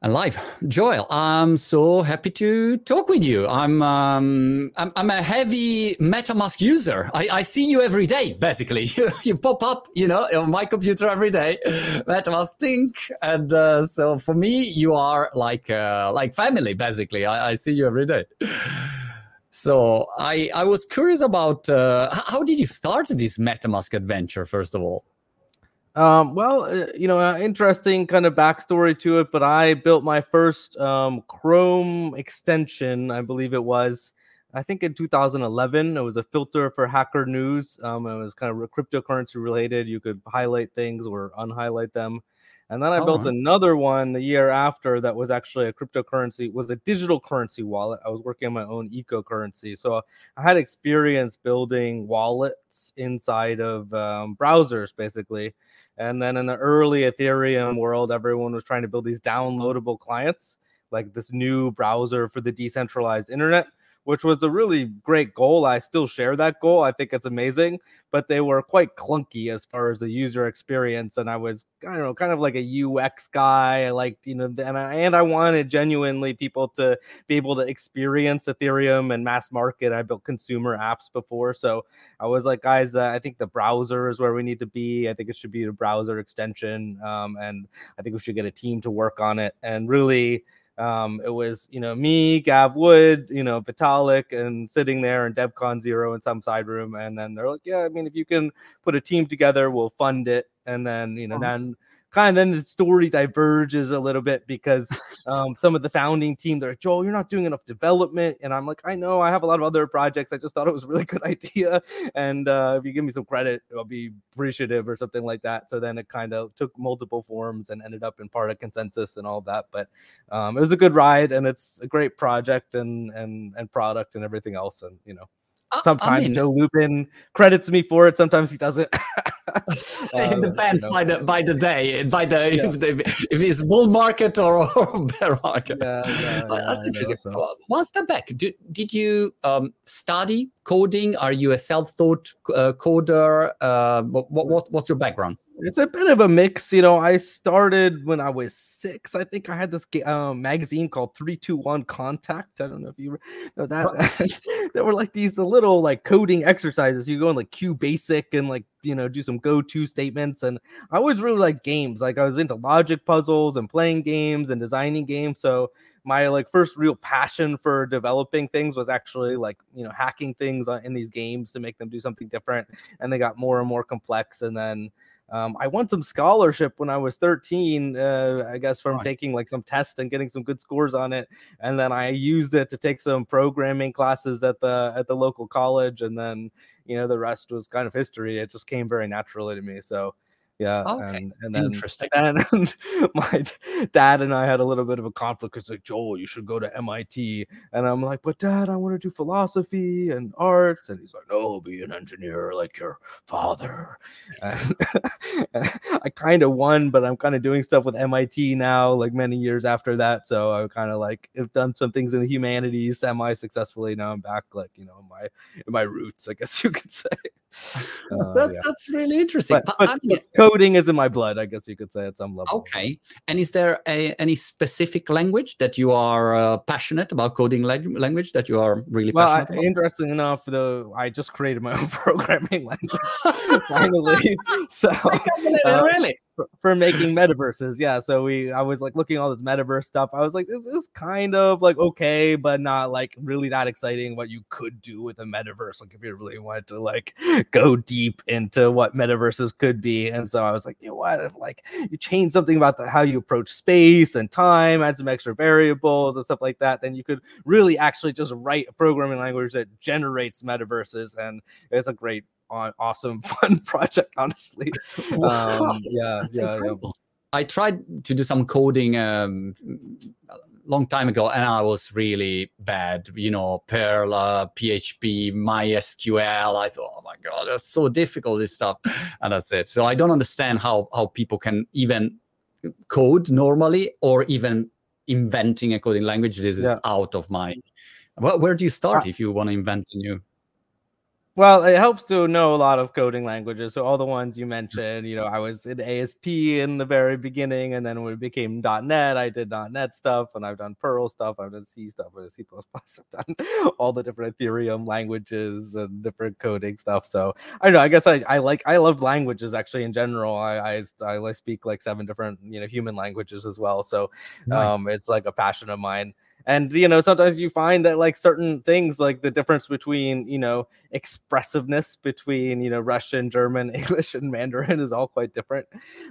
And live, Joel. I'm so happy to talk with you. I'm a heavy MetaMask user. I see you every day, basically. You pop up, on my computer every day, MetaMask Tink, and so for me, you are like family, basically. I see you every day. So I was curious about how did you start this MetaMask adventure, first of all? Interesting kind of backstory to it, but I built my first Chrome extension, I believe it was, I think in 2011. It was a filter for Hacker News. It was kind of cryptocurrency related. You could highlight things or unhighlight them. And then I built another one the year after that was actually a cryptocurrency, was a digital currency wallet. I was working on my own eco-currency. So I had experience building wallets inside of browsers, basically. And then in the early Ethereum world, everyone was trying to build these downloadable clients, like this new browser for the decentralized internet, which was a really great goal. I still share that goal. I think it's amazing, but they were quite clunky as far as the user experience. And I was, I don't know, kind of like a UX guy. I liked, and I wanted genuinely people to be able to experience Ethereum and mass market. I built consumer apps before. So I was like, guys, I think the browser is where we need to be. I think it should be a browser extension. And I think we should get a team to work on it. And really, it was, me, Gav Wood, Vitalik, and sitting there in DevCon 0 in some side room. And then they're like, yeah, I mean, if you can put a team together, we'll fund it. And then, then the story diverges a little bit because some of the founding team, they're like, Joel, you're not doing enough development. And I'm like, I know, I have a lot of other projects. I just thought it was a really good idea. And if you give me some credit, I'll be appreciative or something like that. So then it kind of took multiple forms and ended up in part of consensus and all that. But it was a good ride, and it's a great project and product and everything else. And, sometimes Joe Lubin credits me for it. Sometimes he doesn't. It depends by the day, if it's bull market or bear market. That's interesting. One step back. Did you study coding? Are you a self-taught coder? What's your background? It's a bit of a mix. I started when I was 6. I think I had this magazine called 321 Contact. I don't know if you know that. There were like these little like coding exercises. You go in like QBasic and like, do some go-to statements. And I always really liked games. Like I was into logic puzzles and playing games and designing games. So my like first real passion for developing things was actually like, hacking things in these games to make them do something different. And they got more and more complex. And then I won some scholarship when I was 13, I guess, from taking like some tests and getting some good scores on it. And then I used it to take some programming classes at the local college. And then, the rest was kind of history. It just came very naturally to me. So yeah. Okay. And then, interesting. And my dad and I had a little bit of a conflict. It's like, Joel, you should go to MIT. And I'm like, but Dad, I want to do philosophy and arts. And he's like, no, be an engineer like your father. And I kind of won, but I'm kind of doing stuff with MIT now, like many years after that. So I kind of like have done some things in the humanities semi-successfully. Now I'm back, like, in my roots, I guess you could say. That's really interesting. But coding is in my blood, I guess you could say, at some level. Okay. And is there any specific language that you are passionate about, coding language that you are really passionate about? Interesting enough, though, I just created my own programming language finally. So really? For making metaverses, yeah. So I was like looking at all this metaverse stuff. I was like, this is kind of like okay, but not like really that exciting. What you could do with a metaverse, like if you really wanted to like go deep into what metaverses could be. And so I was like, what if like you change something about how you approach space and time, add some extra variables and stuff like that, then you could really actually just write a programming language that generates metaverses, and it's a great, awesome, fun project, honestly. I tried to do some coding a long time ago, and I was really bad. Perl, PHP, MySQL. I thought, oh my God, that's so difficult, this stuff. And that's it. So I don't understand how people can even code normally, or even inventing a coding language. This is out of my... Where do you start if you want to invent a new... Well, it helps to know a lot of coding languages. So all the ones you mentioned, I was in ASP in the very beginning, and then when it became .NET, I did .NET stuff, and I've done Perl stuff, I've done C stuff, I've done C++, I've done all the different Ethereum languages and different coding stuff. So I don't know. I guess I love languages actually in general. I speak like 7 different human languages as well. So Right. it's like a passion of mine. And sometimes you find that like certain things, like the difference between expressiveness between Russian, German, English, and Mandarin is all quite different.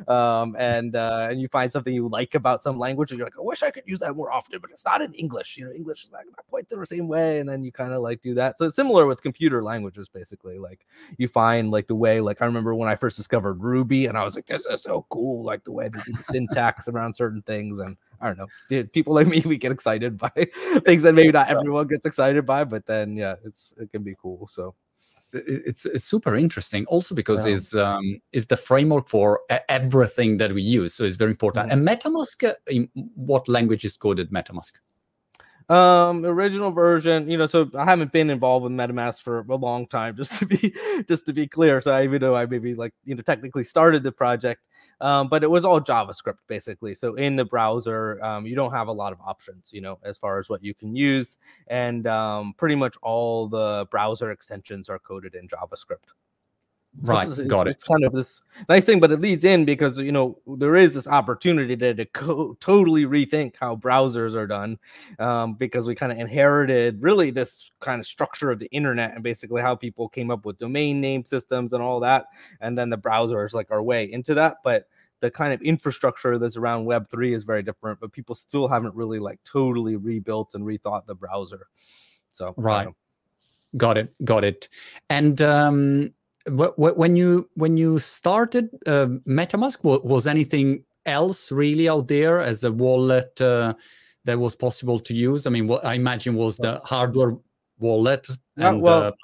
And you find something you like about some language, and you're like, I wish I could use that more often, but it's not in English. English is not quite the same way, and then you kind of like do that. So it's similar with computer languages, basically. Like you find like the way, like I remember when I first discovered Ruby, and I was like, this is so cool, like the way they do the syntax around certain things. And I don't know, people like me, we get excited by things that maybe not everyone gets excited by, but then yeah, it can be cool. So it's super interesting also because it's the framework for everything that we use, so it's very important. And MetaMask, in what language is coded MetaMask? Original version, so I haven't been involved with MetaMask for a long time, just to be clear. So even though I maybe like technically started the project, but it was all JavaScript basically. So in the browser, you don't have a lot of options, as far as what you can use, and pretty much all the browser extensions are coded in JavaScript. Right, got it. It's kind of this nice thing, but it leads in because there is this opportunity to totally rethink how browsers are done, because we kind of inherited really this kind of structure of the internet and basically how people came up with domain name systems and all that, and then the browser is like our way into that. But the kind of infrastructure that's around Web3 is very different, but people still haven't really like totally rebuilt and rethought the browser. So right, got it. And when you started MetaMask, was anything else really out there as a wallet that was possible to use? I mean, what I imagine was the hardware wallet. And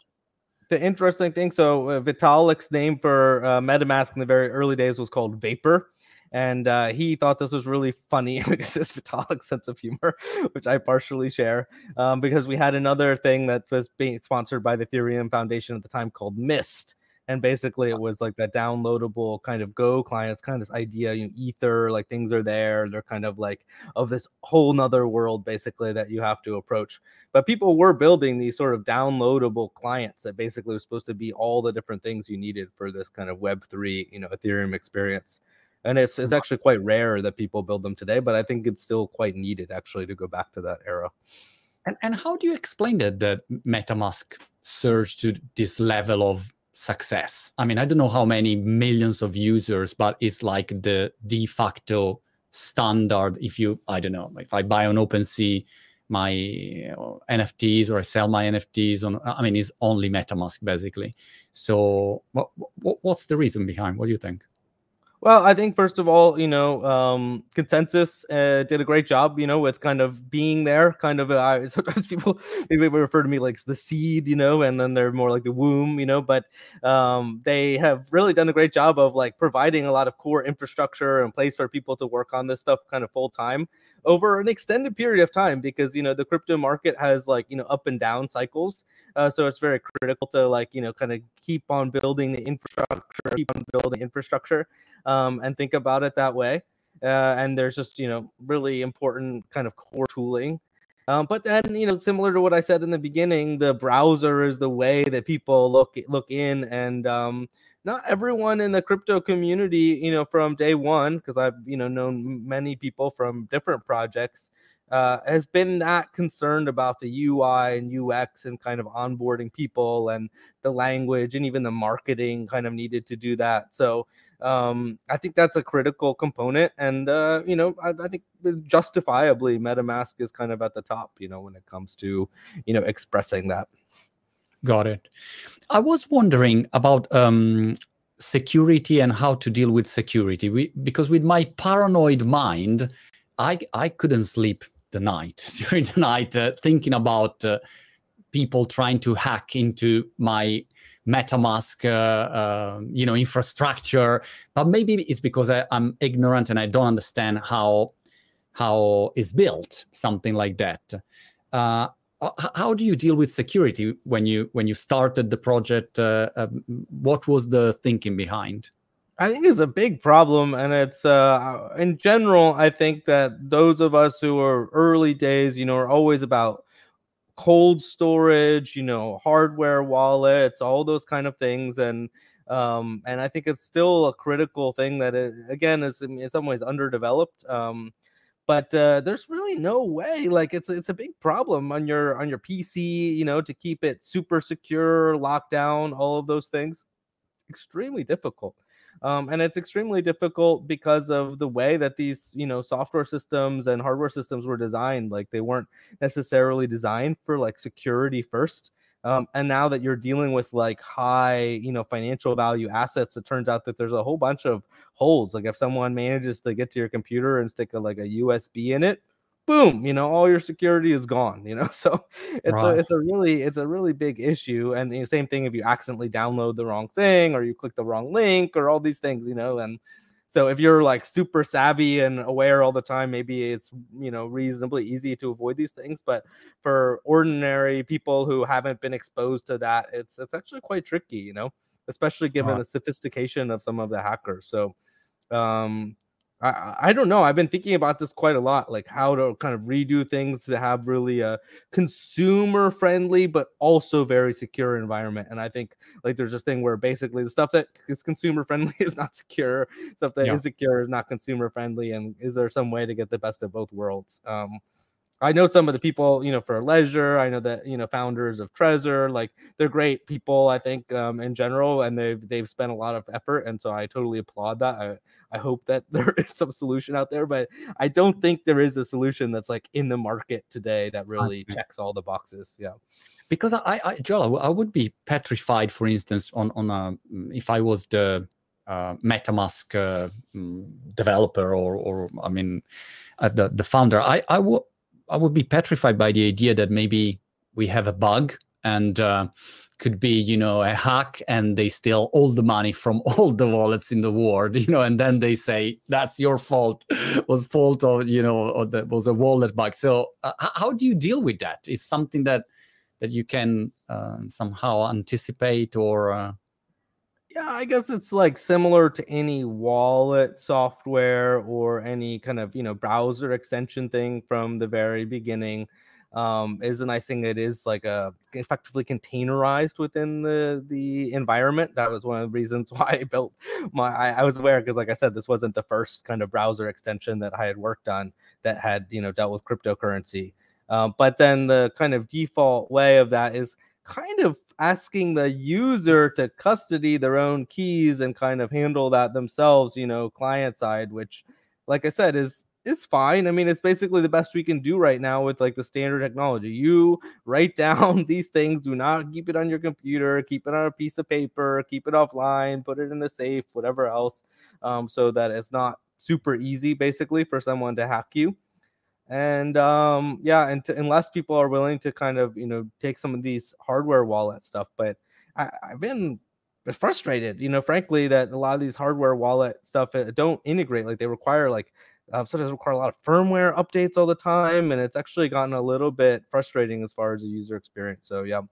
the interesting thing, so Vitalik's name for MetaMask in the very early days was called Vapor. And he thought this was really funny because it's Vitalik's sense of humor, which I partially share, because we had another thing that was being sponsored by the Ethereum Foundation at the time called Mist. And basically it was like that downloadable kind of Go client. It's kind of this idea, Ether, like things are there. They're kind of like of this whole nother world, basically, that you have to approach. But people were building these sort of downloadable clients that basically was supposed to be all the different things you needed for this kind of Web3, Ethereum experience. And it's actually quite rare that people build them today, but I think it's still quite needed actually to go back to that era. And how do you explain that MetaMask surged to this level of success? I mean, I don't know how many millions of users, but it's like the de facto standard. I don't know, if I buy on OpenSea my NFTs or I sell my NFTs it's only MetaMask basically. So what's the reason behind? What do you think? Well, I think first of all, Consensus did a great job, with kind of being there. Kind of sometimes people maybe refer to me like the seed, and then they're more like the womb, But they have really done a great job of like providing a lot of core infrastructure and place for people to work on this stuff kind of full time over an extended period of time, because the crypto market has like up and down cycles. So it's very critical to like kind of keep on building the infrastructure, and think about it that way. And there's just really important kind of core tooling. But then similar to what I said in the beginning, the browser is the way that people look in, and not everyone in the crypto community, from day one, because I've known many people from different projects, has been that concerned about the UI and UX and kind of onboarding people, and the language and even the marketing kind of needed to do that. So I think that's a critical component. And, I think justifiably MetaMask is kind of at the top, when it comes to, expressing that. Got it. I was wondering about security and how to deal with security. Because with my paranoid mind, I couldn't sleep during the night, thinking about people trying to hack into my MetaMask, infrastructure. But maybe it's because I'm ignorant and I don't understand how it's built, something like that. how do you deal with security when you started the project? What was the thinking behind? I think it's a big problem, and it's in general. I think that those of us who are early days, are always about cold storage, hardware wallets, all those kind of things, and I think it's still a critical thing that again is in some ways underdeveloped. But there's really no way. Like it's a big problem on your PC, to keep it super secure, locked down, all of those things. Extremely difficult. And it's extremely difficult because of the way that these, software systems and hardware systems were designed. Like they weren't necessarily designed for like security first. And now that you're dealing with like high, financial value assets, it turns out that there's a whole bunch of holes. Like if someone manages to get to your computer and stick like a USB in it, boom, all your security is gone, so Right. it's a really big issue. And the same thing if you accidentally download the wrong thing or you click the wrong link or all these things, and so if you're like super savvy and aware all the time, maybe it's reasonably easy to avoid these things. But for ordinary people who haven't been exposed to that, it's actually quite tricky, especially given Right. the sophistication of some of the hackers. So um I don't know. I've been thinking about this quite a lot, like how to kind of redo things to have really a consumer friendly, but also very secure environment. And I think like there's this thing where basically the stuff that is consumer friendly is not secure, stuff that Yeah. is secure is not consumer friendly. And is there some way to get the best of both worlds? I know some of the people, for Ledger. I know that, founders of Trezor, like they're great people, I think, in general, and they've spent a lot of effort. And so I totally applaud that. I hope that there is some solution out there, but I don't think there is a solution that's like in the market today that I really see. checks all the boxes. Yeah. Because Joel, I would be petrified, for instance, on if I was the MetaMask developer or I mean, the founder, I would be petrified by the idea that maybe we have a bug and could be, a hack, and they steal all the money from all the wallets in the world, and then they say that's your fault, was fault of, or that was a wallet bug. So how do you deal with that? It's something that you can somehow anticipate or. Yeah, I guess it's like similar to any wallet software or any kind of, browser extension thing from the very beginning. Is a nice thing. It is like effectively containerized within the environment. That was one of the reasons why I built I was aware, because like I said, this wasn't the first kind of browser extension that I had worked on that had, dealt with cryptocurrency. But then the kind of default way of that is kind of asking the user to custody their own keys and kind of handle that themselves, client side, which, like I said, is fine. I mean, it's basically the best we can do right now with like the standard technology. You write down these things, do not keep it on your computer, keep it on a piece of paper, keep it offline, put it in a safe, whatever else, so that it's not super easy basically for someone to hack you. And yeah, and unless people are willing to kind of take some of these hardware wallet stuff. But I've been frustrated, frankly, that a lot of these hardware wallet stuff don't integrate. Like they require like sometimes require a lot of firmware updates all the time, and it's actually gotten a little bit frustrating as far as the user experience. So yeah.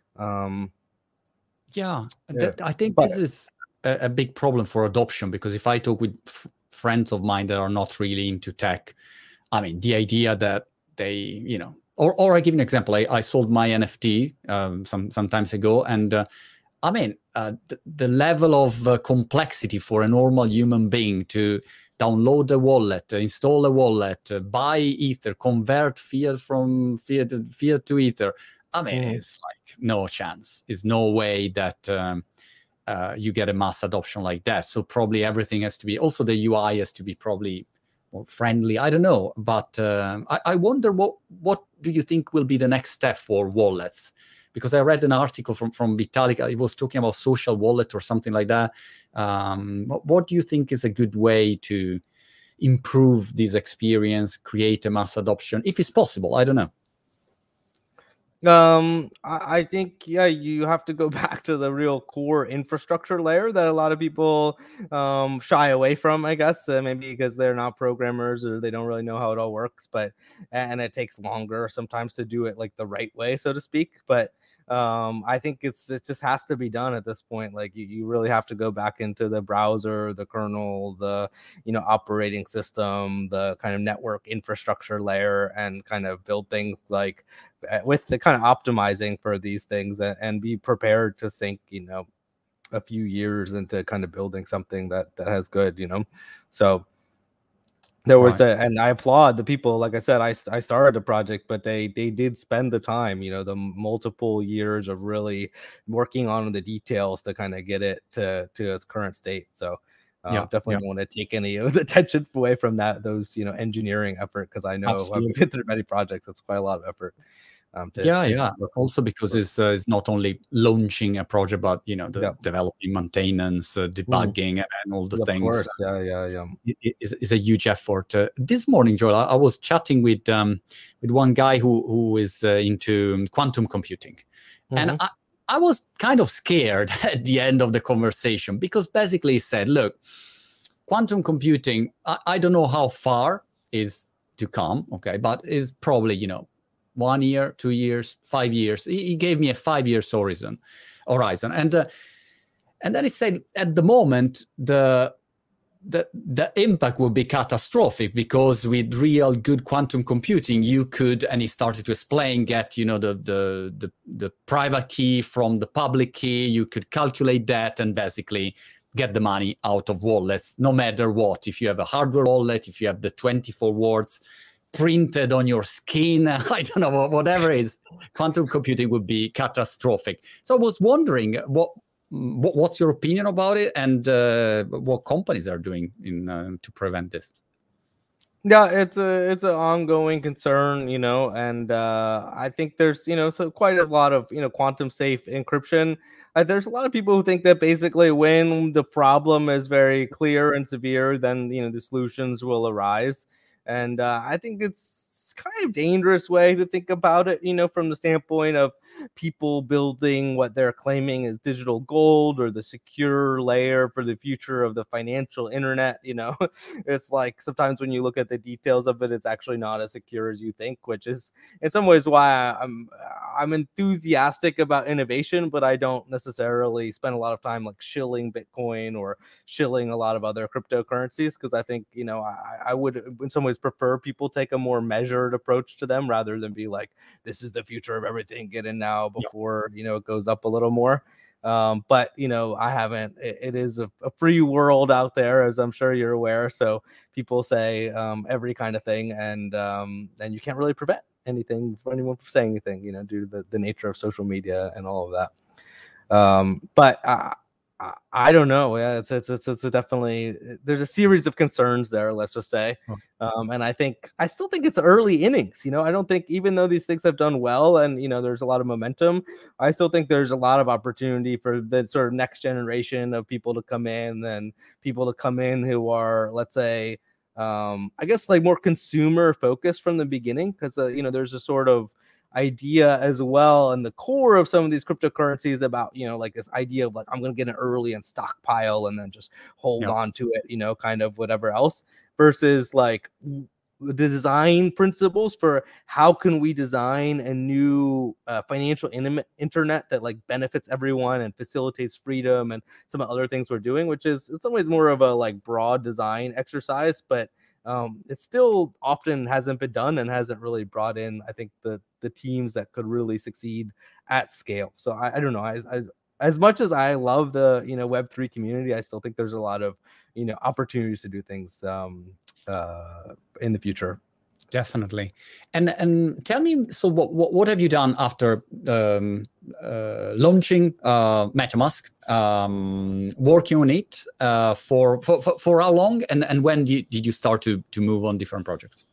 Yeah, Yeah. I think this is a big problem for adoption, because if I talk with friends of mine that are not really into tech, I mean, the idea that they, or I give an example. I sold my NFT some times ago, and I mean, the level of complexity for a normal human being to download a wallet, install a wallet, buy Ether, convert fiat from fiat to Ether. I mean, it's like no chance. It's no way that you get a mass adoption like that. So probably everything has to be, also the UI has to be probably more friendly. I don't know, but I wonder what do you think will be the next step for wallets? Because I read an article from Vitalik. It was talking about social wallet or something like that. What do you think is a good way to improve this experience, create a mass adoption, if it's possible? I don't know. I think, yeah, you have to go back to the real core infrastructure layer that a lot of people shy away from, I guess, maybe because they're not programmers or they don't really know how it all works. But and it takes longer sometimes to do it like the right way, so to speak. But I think it just has to be done at this point. Like you really have to go back into the browser, the kernel, the operating system, the kind of network infrastructure layer, and kind of build things like with the kind of optimizing for these things, and be prepared to sink a few years into kind of building something that has good. So there was Right. and I applaud the people. Like I said, I started the project, but they did spend the time, the multiple years of really working on the details to kind of get it to its current state. So Yeah. definitely Yeah. don't want to take any of the attention away from those engineering effort, because I know I've Absolutely. been through many projects. It's quite a lot of effort Yeah, to yeah. work Also because for. it's not only launching a project, but the Yeah. developing, maintenance, Mhm. debugging, and all the Of things. course. Yeah, yeah, yeah. Is a huge effort. This morning, Joel, I was chatting with one guy who is into quantum computing, and Hmm. I was kind of scared at the end of the conversation, because basically he said, "Look, quantum computing, I don't know how far is to come, okay, but is probably 1 year, 2 years, 5 years." He gave me a 5 years horizon, and then he said, at the moment, the impact would be catastrophic, because with real good quantum computing, you could, and he started to explain, get the private key from the public key. You could calculate that and basically get the money out of wallets, no matter what. If you have a hardware wallet, if you have the 24 words printed on your skin, I don't know, whatever it is, quantum computing would be catastrophic. So I was wondering, what's your opinion about it, and what companies are doing to prevent this? Yeah, it's an ongoing concern, and I think there's so quite a lot of quantum safe encryption. There's a lot of people who think that basically when the problem is very clear and severe, then the solutions will arise, and I think it's kind of dangerous way to think about it, from the standpoint of people building what they're claiming is digital gold or the secure layer for the future of the financial internet. It's like sometimes when you look at the details of it, it's actually not as secure as you think, which is in some ways why I'm enthusiastic about innovation, but I don't necessarily spend a lot of time like shilling Bitcoin or shilling a lot of other cryptocurrencies, because I think I would in some ways prefer people take a more measured approach to them, rather than be like, this is the future of everything, get in now Yeah. before it goes up a little more. But I haven't. It is a free world out there, as I'm sure you're aware. So people say every kind of thing, and you can't really prevent anything for anyone from saying anything, due to the nature of social media and all of that. But I don't know. Yeah, it's definitely, there's a series of concerns there. Let's just say, and I still think it's early innings. I don't think, even though these things have done well and there's a lot of momentum, I still think there's a lot of opportunity for the sort of next generation of people to come in, and people to come in who are, let's say, I guess like more consumer focused from the beginning, because there's a sort of idea as well, and the core of some of these cryptocurrencies about like this idea of like, I'm going to get an early and stockpile and then just hold Yeah. on to it, kind of whatever else, versus like the design principles for how can we design a new financial internet that like benefits everyone and facilitates freedom, and some other things we're doing, which is in some ways more of a like broad design exercise, but it still often hasn't been done and hasn't really brought in, I think, the teams that could really succeed at scale. So I don't know. As much as I love the Web3 community, I still think there's a lot of opportunities to do things in the future. Definitely. And tell me, so what have you done after launching MetaMask, working on it for how long, and when did you start to move on different projects?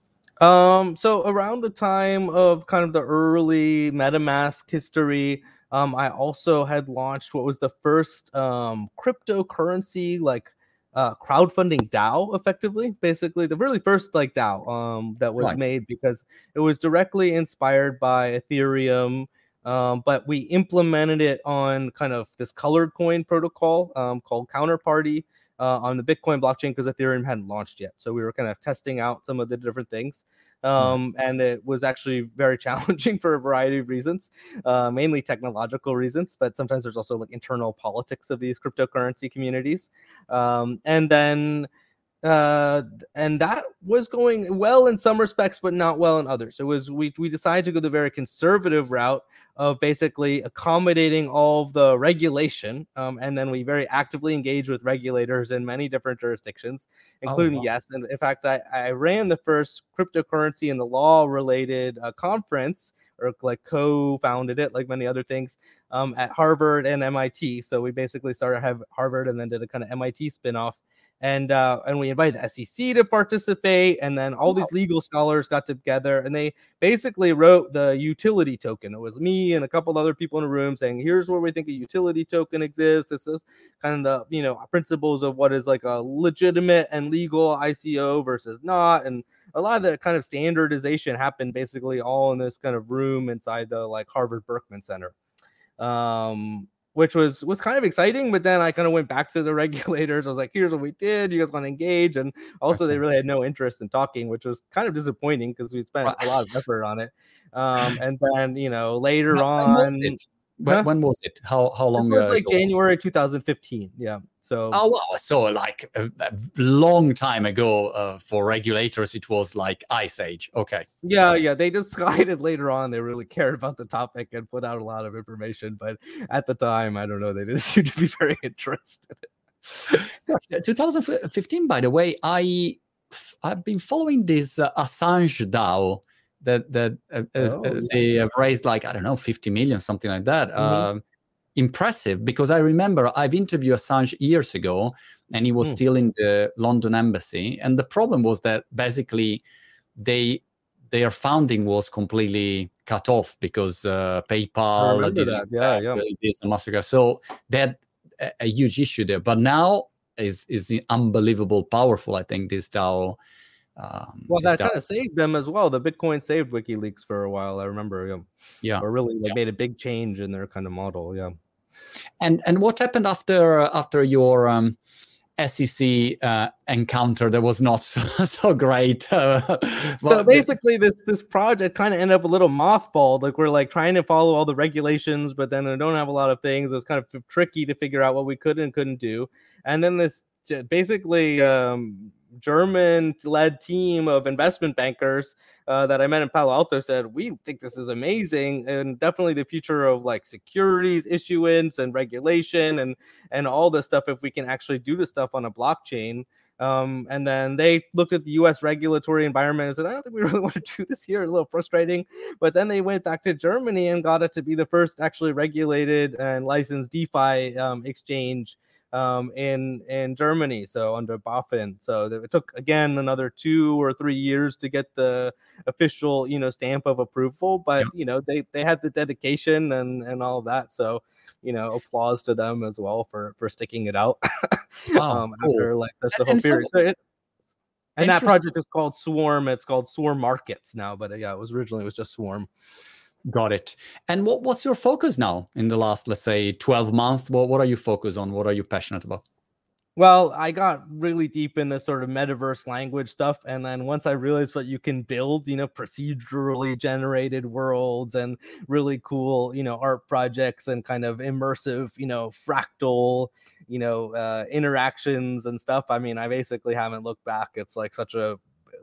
So around the time of kind of the early MetaMask history, I also had launched what was the first cryptocurrency like crowdfunding DAO, effectively. Basically, the really first like DAO that was made, because it was directly inspired by Ethereum. But we implemented it on kind of this colored coin protocol called Counterparty on the Bitcoin blockchain, because Ethereum hadn't launched yet. So we were kind of testing out some of the different things. And it was actually very challenging for a variety of reasons, mainly technological reasons, but sometimes there's also like internal politics of these cryptocurrency communities. And that was going well in some respects, but not well in others. It was we decided to go the very conservative route of basically accommodating all of the regulation, and then we very actively engaged with regulators in many different jurisdictions, including yes. And in fact, I ran the first cryptocurrency and the law related conference, or like co-founded it, like many other things, at Harvard and MIT. So we basically started at Harvard and then did a kind of MIT spinoff. And we invited the SEC to participate, and then all these legal scholars got together, and they basically wrote the utility token. It was me and a couple other people in a room saying, "Here's where we think a utility token exists. This is kind of the principles of what is like a legitimate and legal ICO versus not." And a lot of the kind of standardization happened basically all in this kind of room inside the like Harvard Berkman Center. Which was kind of exciting, but then I kind of went back to the regulators. I was like, here's what we did. You guys want to engage? And also they really had no interest in talking, which was kind of disappointing because we spent a lot of effort on it. And then, later on. When was it? How long? It was like January 2015. Yeah. So so like a long time ago for regulators, it was like Ice Age. Okay. Yeah. They decided later on they really cared about the topic and put out a lot of information, but at the time, I don't know, they didn't seem to be very interested. 2015, by the way, I've been following this Assange DAO that they have raised like, I don't know, 50 million, something like that. Impressive, because I remember I've interviewed Assange years ago, and he was still in the London embassy. And the problem was that basically their funding was completely cut off because PayPal didn't this and Mastercard. So they had a huge issue there. But now is unbelievable powerful, I think, this DAO. That kind of saved them as well. The Bitcoin saved WikiLeaks for a while, I remember. Or really made a big change in their kind of model. Yeah. And what happened after your SEC encounter that was not so great? So basically, this project kind of ended up a little mothballed. Like, we're like trying to follow all the regulations, but then I don't have a lot of things. It was kind of tricky to figure out what we could and couldn't do. And then this basically German-led team of investment bankers that I met in Palo Alto said, we think this is amazing and definitely the future of like securities issuance and regulation and all this stuff if we can actually do this stuff on a blockchain. And then they looked at the US regulatory environment and said, I don't think we really want to do this here. A little frustrating. But then they went back to Germany and got it to be the first actually regulated and licensed DeFi exchange in Germany, so under BaFin. So it took again another 2 or 3 years to get the official stamp of approval, but they had the dedication and all of that. So applause to them as well for sticking it out. After like the whole period. And that project is called Swarm. It's called Swarm Markets now, but it was originally just Swarm. Got it. And what's your focus now in the last, let's say, 12 months? What are you focused on? What are you passionate about? Well, I got really deep in this sort of metaverse language stuff. And then once I realized what you can build, procedurally generated worlds and really cool, art projects and kind of immersive, fractal, interactions and stuff. I mean, I basically haven't looked back. It's like such a,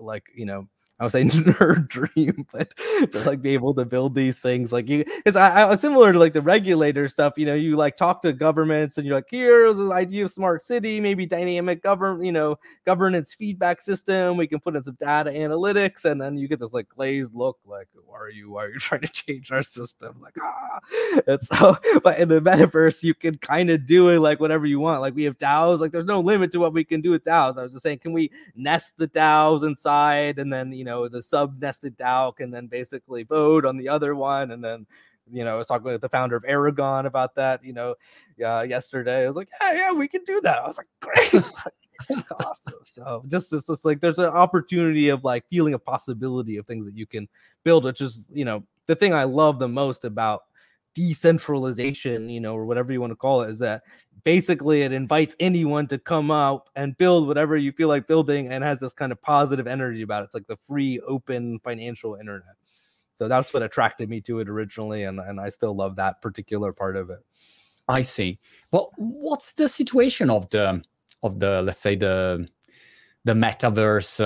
I would say nerd dream, but to like be able to build these things like because I was similar to like the regulator stuff, you like talk to governments and you're like, here's an idea of smart city, maybe dynamic governance feedback system. We can put in some data analytics, and then you get this like glazed look, like, why are you trying to change our system? Like, and so, but in the metaverse, you can kind of do it like whatever you want. Like we have DAOs, like there's no limit to what we can do with DAOs. I was just saying, can we nest the DAOs inside, and then the sub-nested DAO can then basically vote on the other one. And then, I was talking with the founder of Aragon about that, yesterday. I was like, yeah, we can do that. I was like, great. Awesome. So just like there's an opportunity of like feeling a possibility of things that you can build, which is, the thing I love the most about decentralization, or whatever you want to call it, is that basically it invites anyone to come out and build whatever you feel like building, and has this kind of positive energy about it. It's like the free, open financial internet. So that's what attracted me to it originally, and I still love that particular part of it. I see. Well, what's the situation of the let's say the metaverse?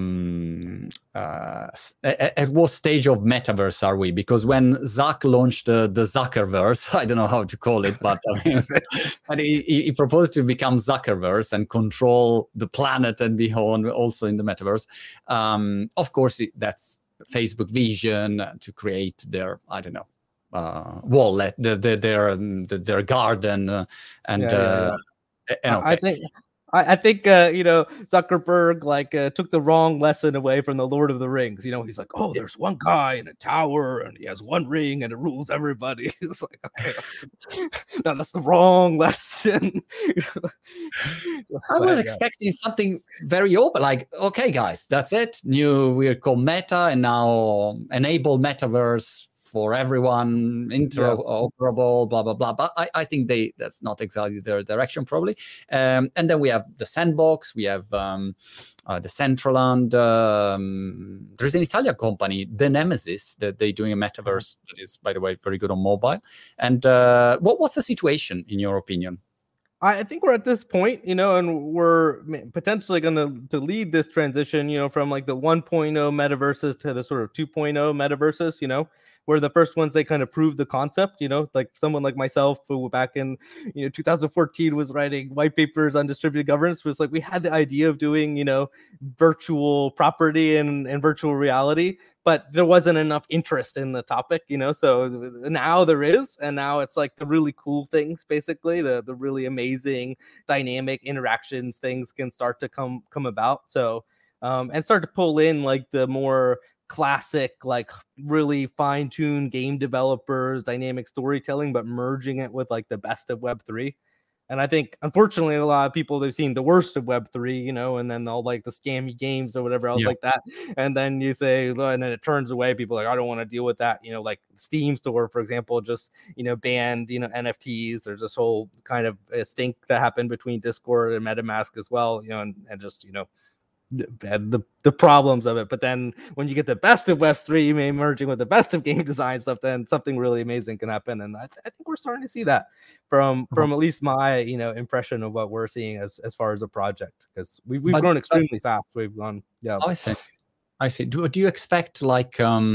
At what stage of metaverse are we? Because when Zuck launched the Zuckerverse, I don't know how to call it, but and he proposed to become Zuckerverse and control the planet and be on also in the metaverse. Of course, that's Facebook vision to create their, I don't know, wallet, their garden, and okay. I think Zuckerberg took the wrong lesson away from the Lord of the Rings. He's like, oh, there's one guy in a tower and he has one ring and it rules everybody. It's like, okay, no, that's the wrong lesson. I was expecting something very open, like, okay, guys, that's it. We're called Meta, and now enable metaverse for everyone, interoperable, blah, blah, blah. But I think that's not exactly their direction, probably. And then we have the Sandbox, we have the Decentraland. There's an Italian company, The Nemesis, that they're doing a metaverse that is, by the way, very good on mobile. And what's the situation, in your opinion? I think we're at this point, and we're potentially going to lead this transition, from like the 1.0 metaverses to the sort of 2.0 metaverses, where the first ones, they kind of proved the concept, like someone like myself who back in 2014 was writing white papers on distributed governance, was like, we had the idea of doing virtual property and virtual reality, but there wasn't enough interest in the topic, so now there is, and now it's like the really cool things, basically the really amazing dynamic interactions, things can start to come about, so and start to pull in like the more classic, like really fine-tuned game developers, dynamic storytelling, but merging it with like the best of Web3. And I think, unfortunately, a lot of people, they've seen the worst of Web3, and then all like the scammy games or whatever else like that. And then you say, and then it turns away. People are like, I don't want to deal with that. Like Steam Store, for example, just, banned, NFTs. There's this whole kind of stink that happened between Discord and MetaMask as well, and just, the problems of it. But then when you get the best of Web3, you may merging with the best of game design stuff, then something really amazing can happen. And I think we're starting to see that from at least my impression of what we're seeing as far as a project, because we've grown extremely fast. We've gone I see. Do you expect like full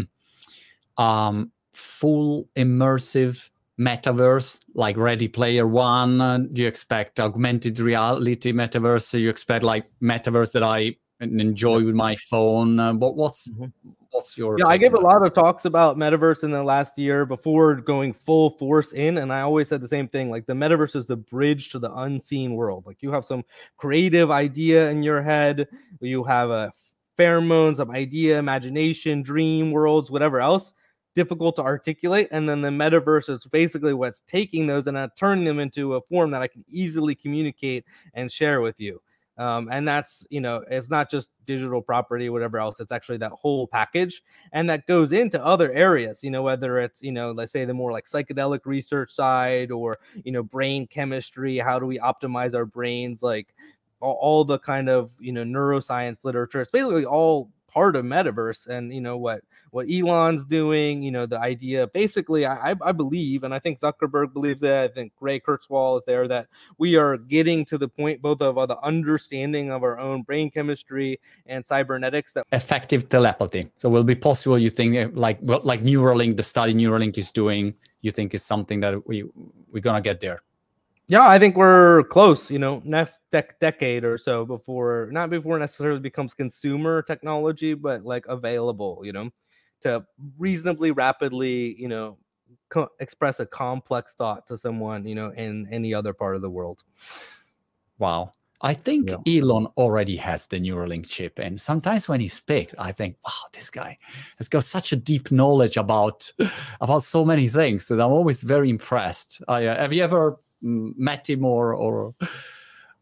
immersive metaverse like Ready Player One? Do you expect augmented reality metaverse? Do you expect like metaverse that I enjoy with my phone? What's your I gave a lot of talks about metaverse in the last year before going full force in, and I always said the same thing, like the metaverse is the bridge to the unseen world. Like you have some creative idea in your head, you have a pheromones of idea, imagination, dream worlds, whatever else, difficult to articulate, and then the metaverse is basically what's taking those and turning them into a form that I can easily communicate and share with you. And that's, it's not just digital property, whatever else, it's actually that whole package. And that goes into other areas, whether it's, let's say the more like psychedelic research side or, brain chemistry, how do we optimize our brains, like all the kind of, neuroscience literature. It's basically all part of metaverse. And what Elon's doing, the idea, basically, I believe, and I think Zuckerberg believes it, I think Ray Kurzweil is there, that we are getting to the point both of the understanding of our own brain chemistry and cybernetics, that effective telepathy. So will be possible, you think, like Neuralink, the study Neuralink is doing, you think is something that we're gonna get there? Yeah, I think we're close, next decade or so, not before necessarily becomes consumer technology, but like available, to reasonably rapidly, express a complex thought to someone, in any other part of the world. Wow. I think Elon already has the Neuralink chip. And sometimes when he speaks, I think, wow, this guy has got such a deep knowledge about so many things that I'm always very impressed. Have you ever met him or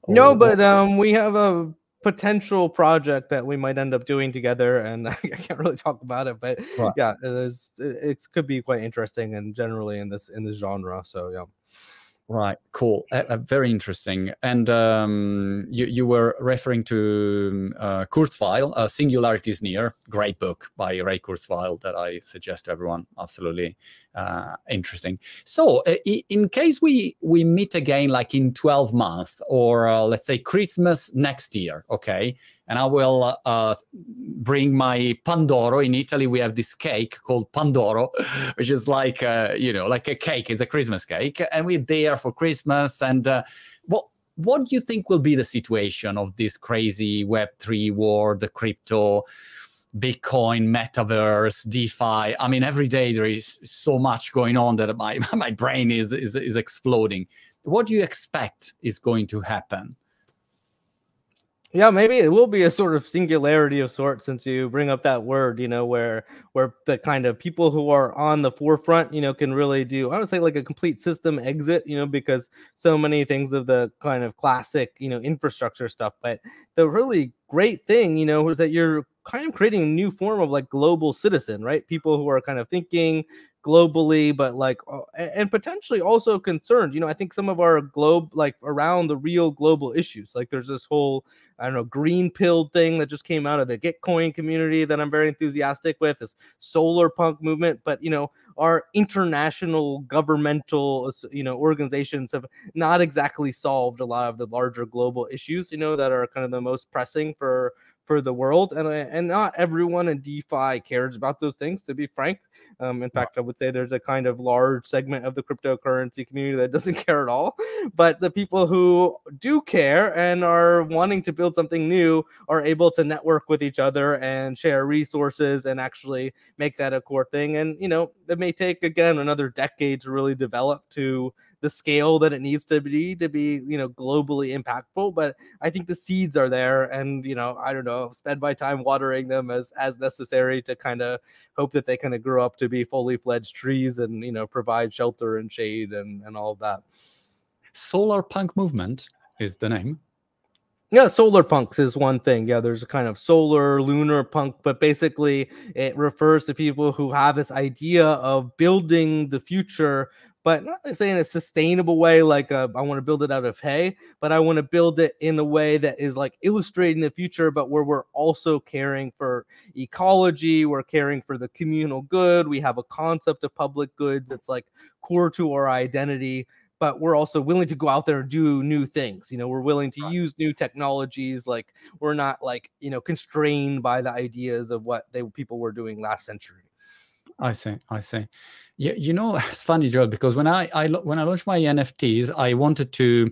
No, Or but we have a potential project that we might end up doing together, and I can't really talk about it, but right. yeah, it could be quite interesting and generally in this genre. So yeah. Right, cool, very interesting. And you were referring to Kurzweil, Singularity is Near, great book by Ray Kurzweil that I suggest to everyone. Absolutely interesting. So, in case we meet again, like in 12 months, or let's say Christmas next year, okay? And I will bring my Pandoro. In Italy, we have this cake called Pandoro, which is like, like a cake. It's a Christmas cake. And we're there for Christmas. And what do you think will be the situation of this crazy Web3 world, the crypto, Bitcoin, metaverse, DeFi? I mean, every day there is so much going on that my brain is exploding. What do you expect is going to happen? Yeah, maybe it will be a sort of singularity of sorts, since you bring up that word, where the kind of people who are on the forefront, can really do, I would say, like a complete system exit, because so many things of the kind of classic, infrastructure stuff. But the really great thing, is that you're kind of creating a new form of like global citizen, right? People who are kind of thinking globally, but like, and potentially also concerned. I think some of our globe, like around the real global issues, like there's this whole, I don't know, green pill thing that just came out of the Gitcoin community that I'm very enthusiastic with, this solar punk movement. But, our international governmental, organizations have not exactly solved a lot of the larger global issues, that are kind of the most pressing for the world. And not everyone in DeFi cares about those things, to be frank. In fact, I would say there's a kind of large segment of the cryptocurrency community that doesn't care at all. But the people who do care and are wanting to build something new are able to network with each other and share resources and actually make that a core thing. And, it may take, again, another decade to really develop to the scale that it needs to be, globally impactful. But I think the seeds are there, and, I don't know, spend my time watering them as necessary to kind of hope that they kind of grow up to be fully fledged trees and, provide shelter and shade and all of that. Solar Punk Movement is the name. Yeah, solar punks is one thing. Yeah, there's a kind of solar, lunar punk, but basically it refers to people who have this idea of building the future, but not say in a sustainable way, like I want to build it out of hay, but I want to build it in a way that is like illustrating the future, but where we're also caring for ecology, we're caring for the communal good. We have a concept of public goods that's like core to our identity, but we're also willing to go out there and do new things. We're willing to use new technologies. Like we're not like, constrained by the ideas of what people were doing last century. I see. Yeah, it's funny, Joel, because when I launched my NFTs, I wanted to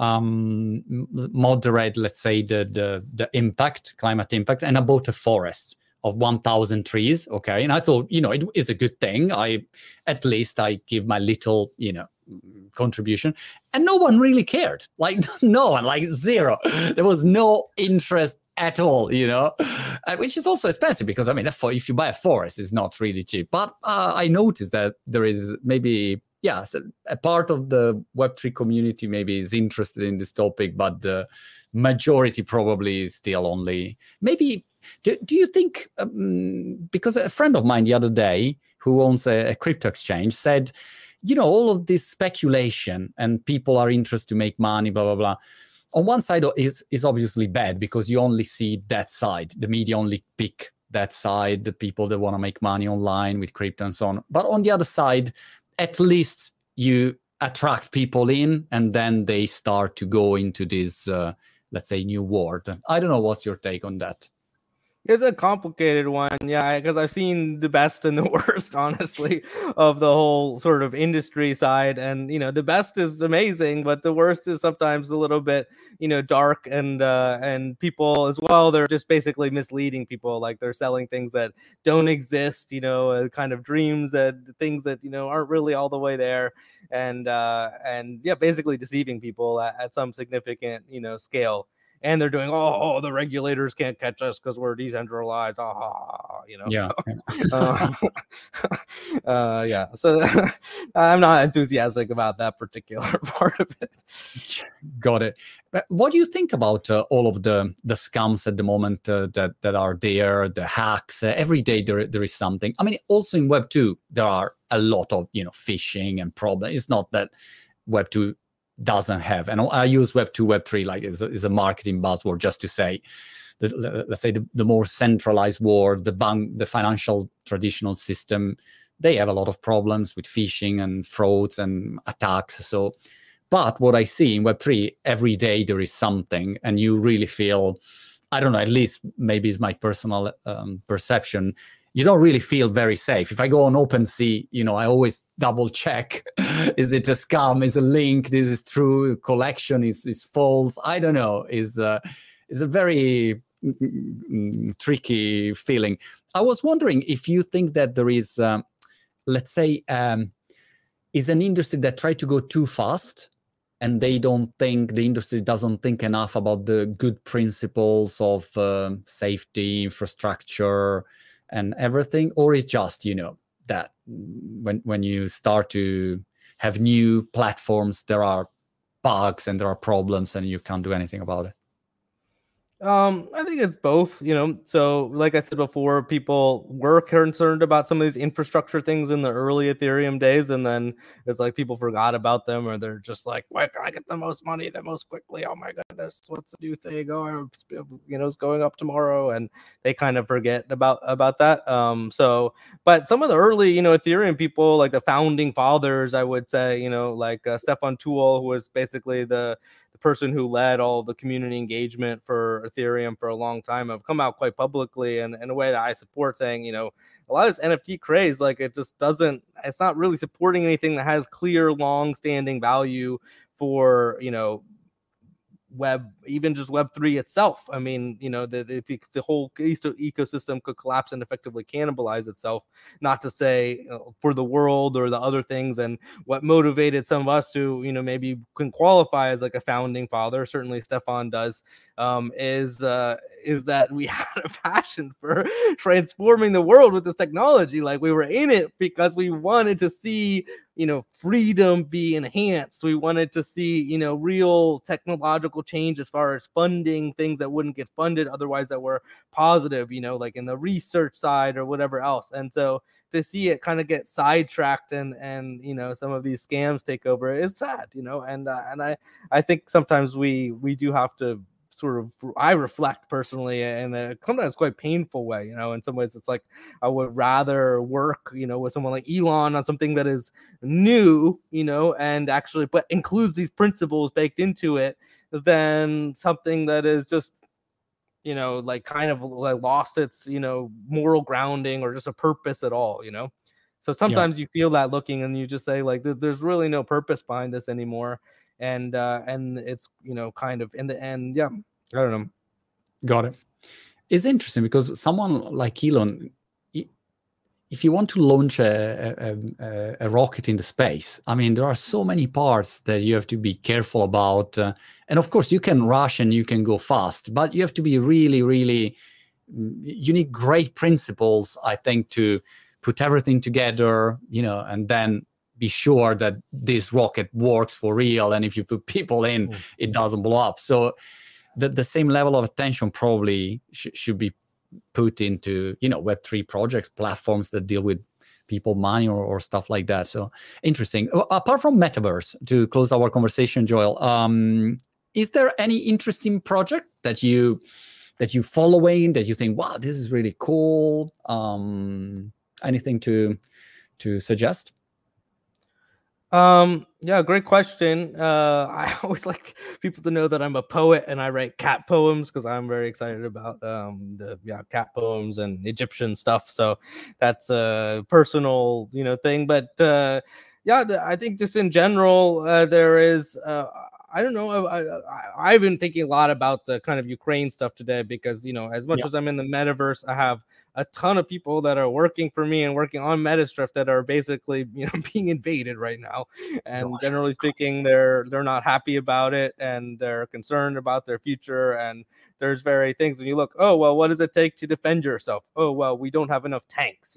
moderate, let's say, the impact, climate impact, and I bought a forest of 1,000 trees. Okay, and I thought, it is a good thing. At least I give my little, contribution, and no one really cared. Like no one, like zero. There was no interest at all, which is also expensive because if you buy a forest, it's not really cheap. But I noticed that there is maybe a part of the Web3 community maybe is interested in this topic, but the majority probably is still only maybe. Do you think? Because a friend of mine the other day who owns a crypto exchange said, all of this speculation and people are interested to make money, blah, blah, blah. On one side is obviously bad because you only see that side. The media only pick that side, the people that want to make money online with crypto and so on. But on the other side, at least you attract people in and then they start to go into this, let's say, new world. I don't know. What's your take on that? It's a complicated one, yeah, because I've seen the best and the worst, honestly, of the whole sort of industry side. And, the best is amazing, but the worst is sometimes a little bit, dark, and people as well, they're just basically misleading people. Like they're selling things that don't exist, kind of dreams, things that, aren't really all the way there. And yeah, basically deceiving people at some significant, scale. and they're doing, oh, the regulators can't catch us because we're decentralized, Yeah. Yeah. So I'm not enthusiastic about that particular part of it. Got it. But what do you think about all of the scams at the moment that are there, the hacks? Every day there is something. I mean, also in Web 2, there are a lot of, phishing and problems. It's not that Web 2 doesn't have, and I use Web 2, Web 3 like is a marketing buzzword just to say, let's say the more centralized world, the financial traditional system, they have a lot of problems with phishing and frauds and attacks. So, but what I see in Web3, every day there is something, and you really feel, I don't know, at least maybe it's my personal perception, you don't really feel very safe. If I go on OpenSea, I always double check, is it a scam, is a link, this is true, collection is false, I don't know, is a very tricky feeling. I was wondering if you think that there is, let's say, is an industry that try to go too fast, and the industry doesn't think enough about the good principles of safety, infrastructure, and everything, or is just, that when you start to have new platforms, there are bugs and there are problems and you can't do anything about it? I think it's both, so like I said before, people were concerned about some of these infrastructure things in the early Ethereum days, and then it's like people forgot about them, or they're just like, where can I get the most money the most quickly? Oh my goodness, what's the new thing? Oh, it's going up tomorrow, and they kind of forget about that. But some of the early, Ethereum people, like the founding fathers, I would say, like Stefan Tuul, who was basically the person who led all the community engagement for Ethereum for a long time, have come out quite publicly and in a way that I support, saying, a lot of this NFT craze, like it's not really supporting anything that has clear, long-standing value for, even just Web3 itself. I mean, the whole ecosystem could collapse and effectively cannibalize itself, not to say for the world or the other things. And what motivated some of us to, maybe can qualify as like a founding father, certainly Stefan does, is that we had a passion for transforming the world with this technology. Like, we were in it because we wanted to see, freedom be enhanced. We wanted to see, real technological change as far as funding things that wouldn't get funded otherwise, that were positive, like in the research side or whatever else. And so to see it kind of get sidetracked and some of these scams take over is sad, and I think sometimes we do have to I reflect personally in a sometimes quite painful way. In some ways it's like I would rather work, with someone like Elon on something that is new, and actually but includes these principles baked into it, than something that is just, like kind of like lost its, moral grounding or just a purpose at all, So sometimes you feel that looking, and you just say, like, there's really no purpose behind this anymore. And it's, kind of in the end, I don't know. Got it. It's interesting because someone like Elon, if you want to launch a rocket in the space, I mean, there are so many parts that you have to be careful about. And of course, you can rush and you can go fast, but you have to be really, really, you need great principles, I think, to put everything together, and then be sure that this rocket works for real. And if you put people in, it doesn't blow up. So the same level of attention probably should be put into, Web3 projects, platforms that deal with people, money, or stuff like that. So interesting. Apart from Metaverse, to close our conversation, Joel, is there any interesting project that you following, that you think, wow, this is really cool? Anything to suggest? Yeah, great question. I always like people to know that I'm a poet and I write cat poems, because I'm very excited about the cat poems and Egyptian stuff. So that's a personal thing. But I think just in general, there is I don't know. I've been thinking a lot about the kind of Ukraine stuff today, because as much as I'm in the metaverse, I have a ton of people that are working for me and working on Metastrift that are basically, being invaded right now. And generally speaking, they're not happy about it, and they're concerned about their future. And there's very things when you look, oh, well, what does it take to defend yourself? Oh, well, we don't have enough tanks,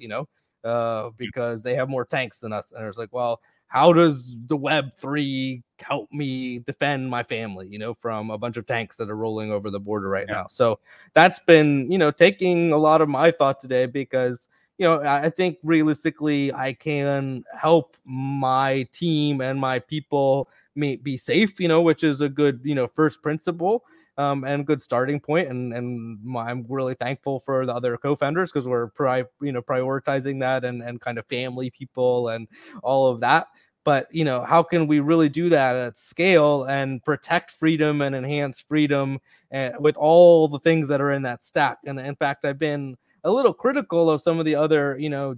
because they have more tanks than us. And it's like, well, how does the Web3 help me defend my family, from a bunch of tanks that are rolling over the border right now? So that's been, taking a lot of my thought today, because, I think realistically I can help my team and my people be safe, which is a good, first principle. And good starting point. And I'm really thankful for the other co-founders, because we're prioritizing that and kind of family people and all of that. But, how can we really do that at scale and protect freedom and enhance freedom with all the things that are in that stack? And in fact, I've been a little critical of some of the other,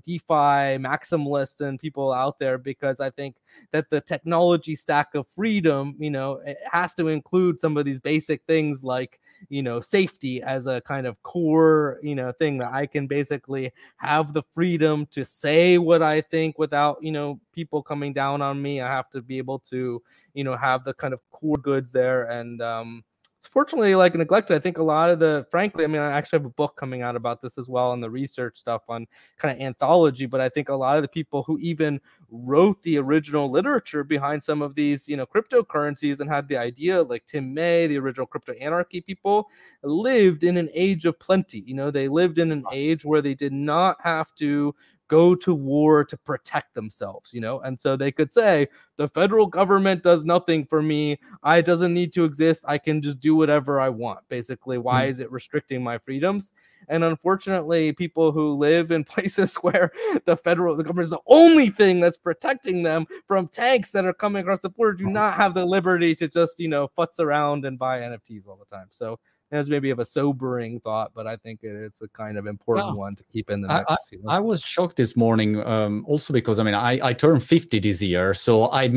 DeFi maximalists and people out there, because I think that the technology stack of freedom, it has to include some of these basic things like, safety as a kind of core, thing that I can basically have the freedom to say what I think without, people coming down on me. I have to be able to, have the kind of core goods there. And, fortunately neglected. I think a lot of frankly, I actually have a book coming out about this as well, and the research stuff on kind of anthology. But I think a lot of the people who even wrote the original literature behind some of these, cryptocurrencies and had the idea, like Tim May, the original crypto anarchy people, lived in an age of plenty. They lived in an age where they did not have to go to war to protect themselves, and so they could say, the federal government does nothing for me. I doesn't need to exist. I can just do whatever I want. Basically, why is it restricting my freedoms? And unfortunately, people who live in places where the government is the only thing that's protecting them from tanks that are coming across the border do not have the liberty to just, futz around and buy NFTs all the time. So it was maybe of a sobering thought, but I think it's a kind of important one to keep in the mix. I was shocked this morning, also because I turned 50 this year, so I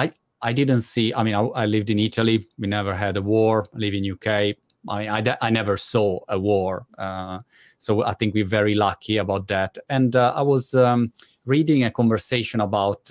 didn't see. I lived in Italy. We never had a war. I live in UK. I never saw a war, so I think we're very lucky about that. And I was reading a conversation about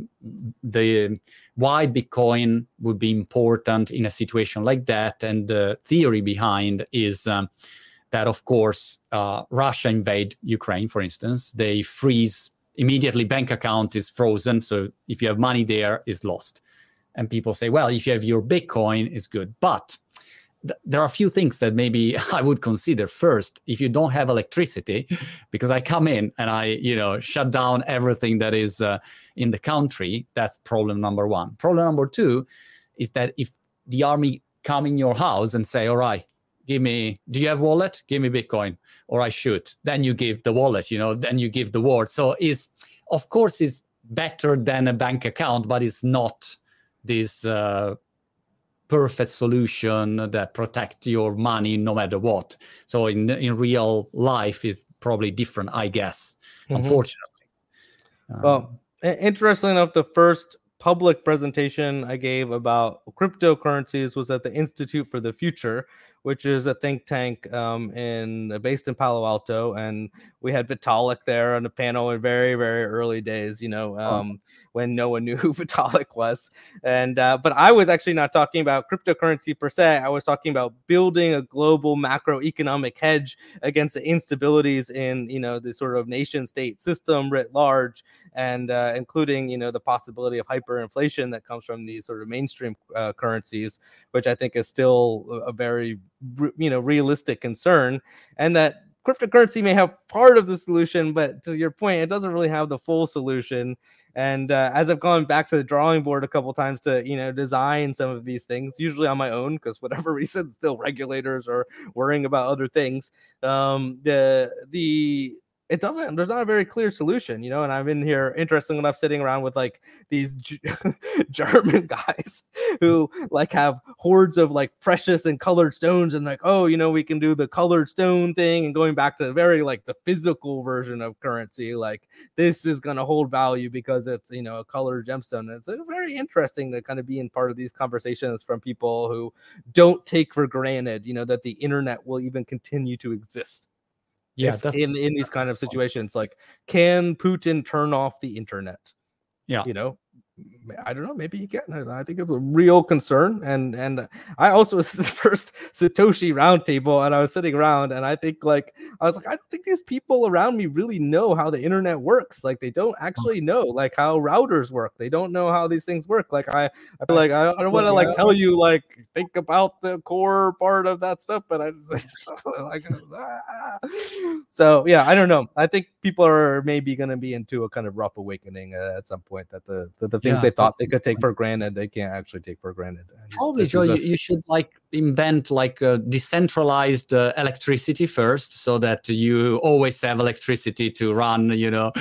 why Bitcoin would be important in a situation like that, and the theory behind is that, of course, Russia invade Ukraine, for instance. They freeze immediately. Bank account is frozen, so if you have money there, it's lost. And people say, well, if you have your Bitcoin, it's good. But there are a few things that maybe I would consider. First, if you don't have electricity, because I come in and I, shut down everything that is in the country, that's problem number one. Problem number two is that if the army come in your house and say, all right, do you have wallet? Give me Bitcoin, or I shoot. Then you give the wallet, then you give the word. So of course, it's better than a bank account, but it's not this perfect solution that protects your money no matter what. So in real life is probably different, I guess, unfortunately. Well, interestingly enough, the first public presentation I gave about cryptocurrencies was at the Institute for the Future, which is a think tank based in Palo Alto. And we had Vitalik there on the panel in very, very early days, when no one knew who Vitalik was. And but I was actually not talking about cryptocurrency per se. I was talking about building a global macroeconomic hedge against the instabilities in, the sort of nation state system writ large, and including, the possibility of hyperinflation that comes from these sort of mainstream currencies, which I think is still a very realistic concern, and that cryptocurrency may have part of the solution, but to your point, it doesn't really have the full solution. And as I've gone back to the drawing board a couple times to design some of these things, usually on my own, because whatever reason, still regulators are worrying about other things. There's not a very clear solution, and I'm in here, interesting enough, sitting around with like these German guys who like have hordes of like precious and colored stones, and like, oh, we can do the colored stone thing, and going back to very like the physical version of currency, like this is going to hold value because it's, a colored gemstone. And it's very interesting to kind of be in part of these conversations from people who don't take for granted, that the internet will even continue to exist. Yeah, if in these kind of situations, like, can Putin turn off the internet? Yeah. You know, I don't know. Maybe he can. I think it's a real concern. And I also was the first Satoshi roundtable, and I was sitting around, and I think I don't think these people around me really know how the internet works. Like, they don't actually know like how routers work. They don't know how these things work. Like, I feel like I don't want to like tell you like think about the core part of that stuff, but I like so yeah, I don't know. I think people are maybe going to be into a kind of rough awakening at some point, that the things they thought they could take for granted, they can't actually take for granted. And probably, Joe, you should like invent like a decentralized electricity first, so that you always have electricity to run, you know,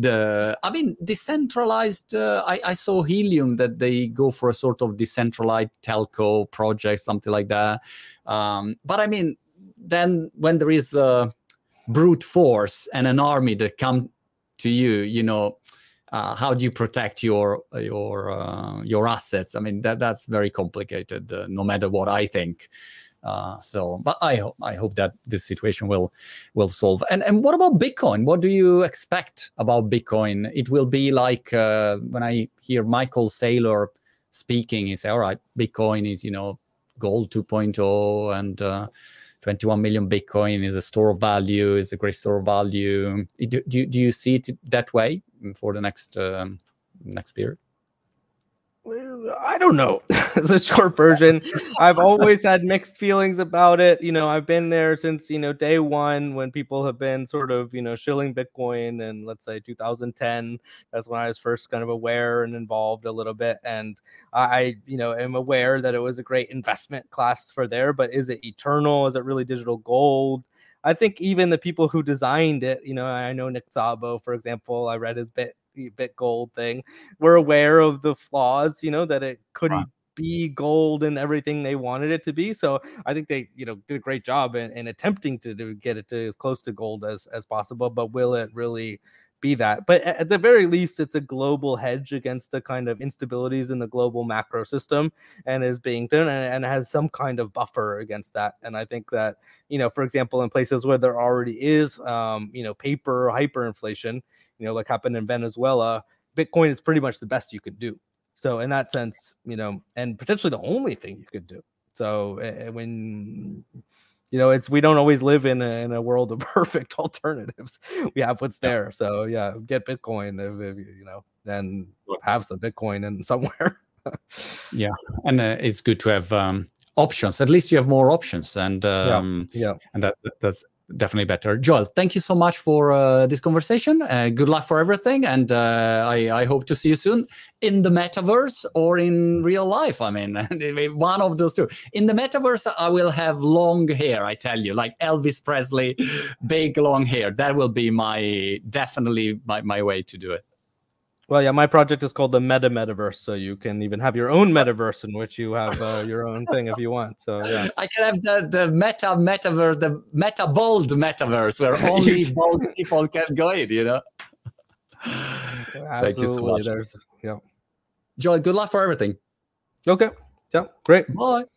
decentralized. I saw Helium that they go for a sort of decentralized telco project, something like that. But I mean, then when there is brute force and an army that come to you, you know, how do you protect your assets? I mean, that's very complicated, no matter what I think. But I hope that this situation will solve. And what about Bitcoin? What do you expect about Bitcoin? It will be like when I hear Michael Saylor speaking, he say, all right, Bitcoin is, you know, gold 2.0, and 21 million Bitcoin is a store of value, is a great store of value. Do you see it that way for the next period? Well, I don't know. It's a short version. I've always had mixed feelings about it. You know, I've been there since, you know, day one, when people have been sort of, you know, shilling Bitcoin, and let's say 2010. That's when I was first kind of aware and involved a little bit. And I, you know, am aware that it was a great investment class for there, but is it eternal? Is it really digital gold? I think even the people who designed it, you know, I know Nick Szabo, for example, I read his BitGold thing, were aware of the flaws, you know, that it couldn't be gold and everything they wanted it to be. So I think they, you know, did a great job in attempting to get it to as close to gold as possible. But will it really be that? But at the very least, it's a global hedge against the kind of instabilities in the global macro system, and is being done, and has some kind of buffer against that. And I think that, you know, for example, in places where there already is, you know, paper hyperinflation, you know, like happened in Venezuela, Bitcoin is pretty much the best you could do. So in that sense, you know, and potentially the only thing you could do. So when, you know, we don't always live in a world of perfect alternatives. We have what's there. So yeah, get Bitcoin if you know, then have some Bitcoin in somewhere. Yeah, and it's good to have options. At least you have more options, and and that's definitely better. Joel, thank you so much for this conversation. Good luck for everything, and I hope to see you soon in the metaverse or in real life. I mean, one of those two. In the metaverse, I will have long hair, I tell you, like Elvis Presley, big long hair. That will be definitely my way to do it. Well, yeah, my project is called the Metaverse, so you can even have your own metaverse in which you have your own thing if you want. So yeah, I can have the metaverse, the meta bold metaverse, where only bold people can go in. You know. Thank you so much. Yeah, Joel, good luck for everything. Okay. Yeah, great. Bye.